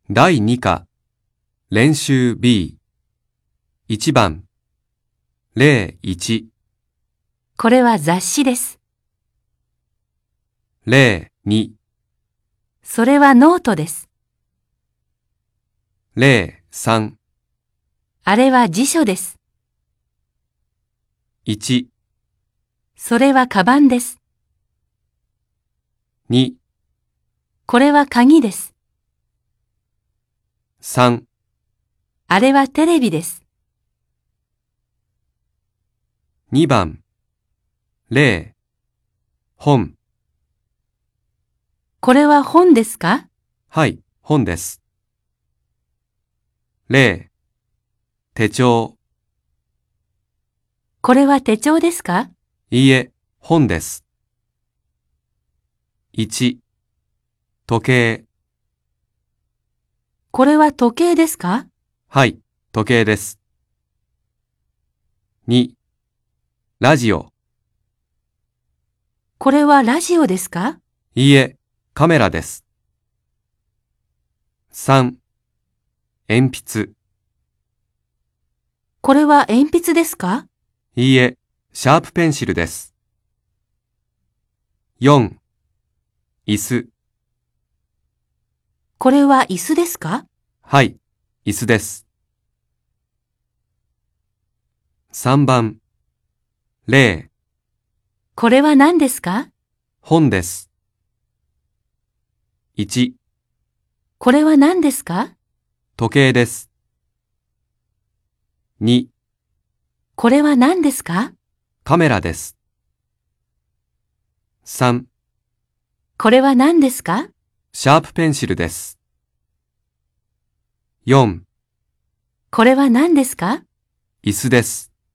第2課、練習 B。1番、例1、 これは雑誌です。 例2、 それはノートです。 例3、 あれは辞書です。 1、 それはカバンです。 2、 これは鍵です。 3、 あれはテレビです。 2番、例、本。 これは本ですか？ はい、本です。例、手帳。 これは手帳ですか？ いいえ、本です。1、時計。 これは時計ですか？ はい、時計です。2、ラジオ。 これはラジオですか？ いいえ、カメラです。3、鉛筆。 これは鉛筆ですか？ いいえ、シャープペンシルです。4、椅子。 これは椅子ですか？ はい、椅子です。3番、例、 これは何ですか？ 本です。1、 これは何ですか？ 時計です。2、 これは何ですか？ カメラです。3、 これは何ですか？ シャープペンシルです。4、 これは何ですか？ 椅子です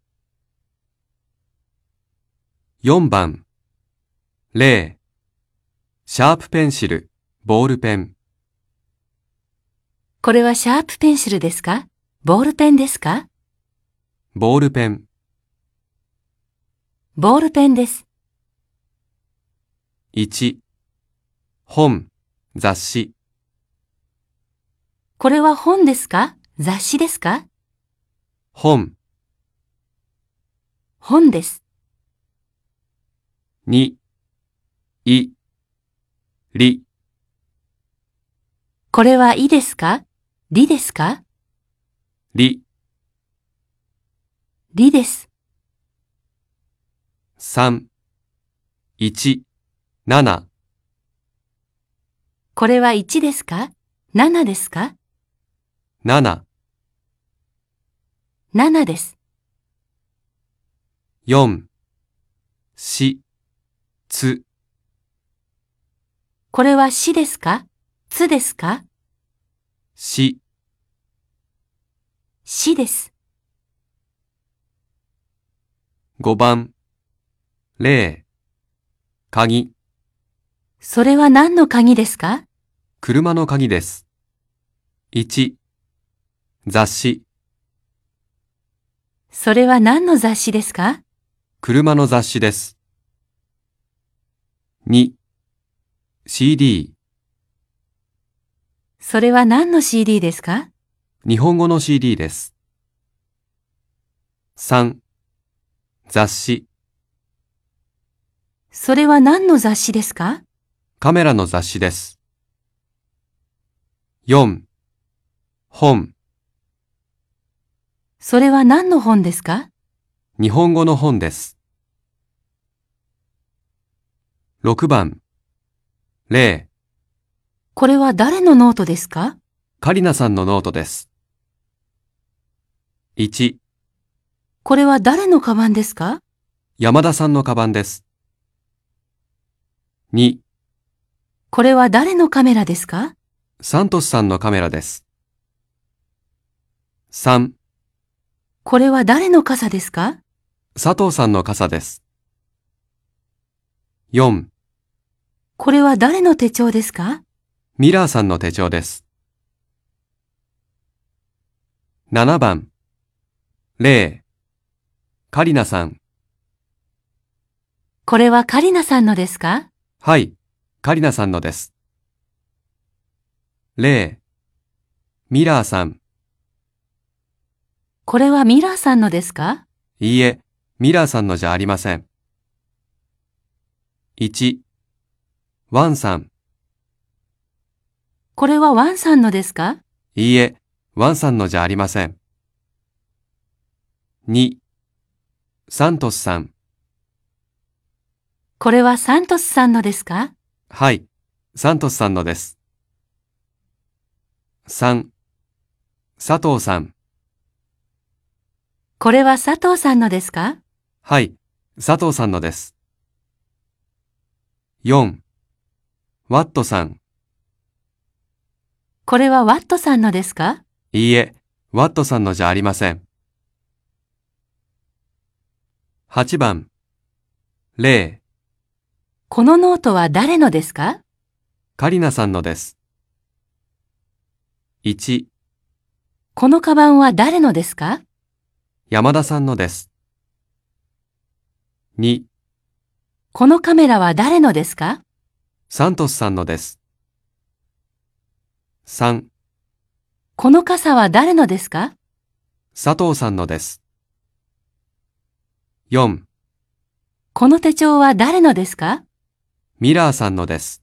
。4番、例、シャープペンシル、ボールペン。 これはシャープペンシルですか？ボールペンですか？ ボールペン。 ボールペンです。 1、本、雑誌。 これは本ですか？雑誌ですか？ 本。 本です。 2、い、り。 これはいですか？りですか？ り。 りです。 3、1、7。 これは1ですか？7ですか 7、 ？7です。 4、し、つ。 これはしですか？つですか？ し。 しです。 5番、例、鍵。 それは何の鍵ですか？ 車の鍵です。1、雑誌。 それは何の雑誌ですか？ 車の雑誌です。2、CD。 それは何の CD ですか？ 日本語の CD です。3、雑誌。 それは何の雑誌ですか？ カメラの雑誌です。4、本。 それは何の本ですか？ 日本語の本です。6番、例、 これは誰のノートですか？ カリナさんのノートです。1、 これは誰のカバンですか？ 山田さんのカバンです。2、 これは誰のカメラですか？ サントスさんのカメラです。3、 これは誰の傘ですか？ 佐藤さんの傘です。4、 これは誰の手帳ですか？ ミラーさんの手帳です。7番、例、カリナさん。 これはカリナさんのですか？ はい、カリナさんのです。例、 ミラーさん。 これはミラーさんのですか？ いいえ、ミラーさんのじゃありません。1、ワンさん。 これはワンさんのですか？ いいえ、ワンさんのじゃありません。2、サントスさん。 これはサントスさんのですか？ はい、サントスさんのです。3、佐藤さん。 これは佐藤さんのですか？ はい、佐藤さんのです。4、ワットさん。 これはワットさんのですか？ いいえ、ワットさんのじゃありません。8番、レイ、 このノートは誰のですか？ カリナさんのです。1、 このカバンは誰のですか？ 山田さんのです。2、 このカメラは誰のですか？ サントスさんのです。3、 この傘は誰のですか？ 佐藤さんのです。4、 この手帳は誰のですか？ ミラーさんのです。